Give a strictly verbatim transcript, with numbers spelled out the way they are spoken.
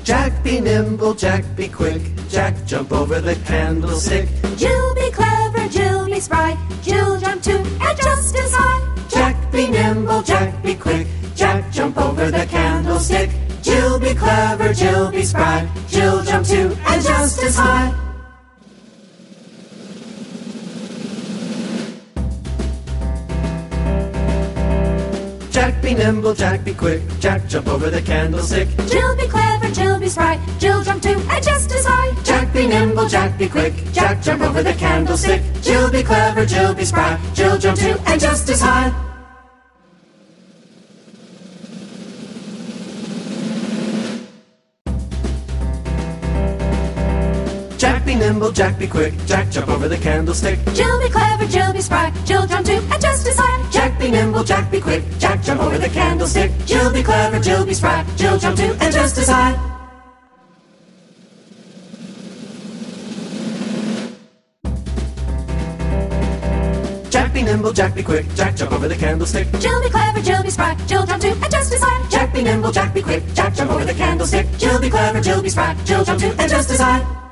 Jack be nimble, Jack be quick, Jack jump over the candlestick. Jill be clever, Jill be spry, Jill jump too and just as high. Jack be nimble, Jack be quick, Jack jump over the candlestick. Jill be clever, Jill be spry, Jill jump too and just as high. Jack be nimble, Jack be quick, Jack jump over the candlestick. Jill be clever, Jill be spry, Jill jump too and just as high. Jack be nimble, Jack be quick, Jack jump over the candlestick. Jill be clever, Jill be spry, Jill jump too and just as high. Jack be nimble, Jack be quick, Jack jump over the candlestick. Jill be clever, Jill be spry, Jill jump too and just as high. Jack be nimble, Jack be quick, Jack jump over the candlestick. Jill be clever, Jill be spry, Jill jump too and just as high. Jack be nimble, Jack be quick, Jack jump over the candlestick. Jill be clever, Jill be spry, Jill jump too and just as high. Jack be nimble, Jack be quick, Jack jump over the candlestick. Jill be clever, Jill be spry, Jill jump too and just as high.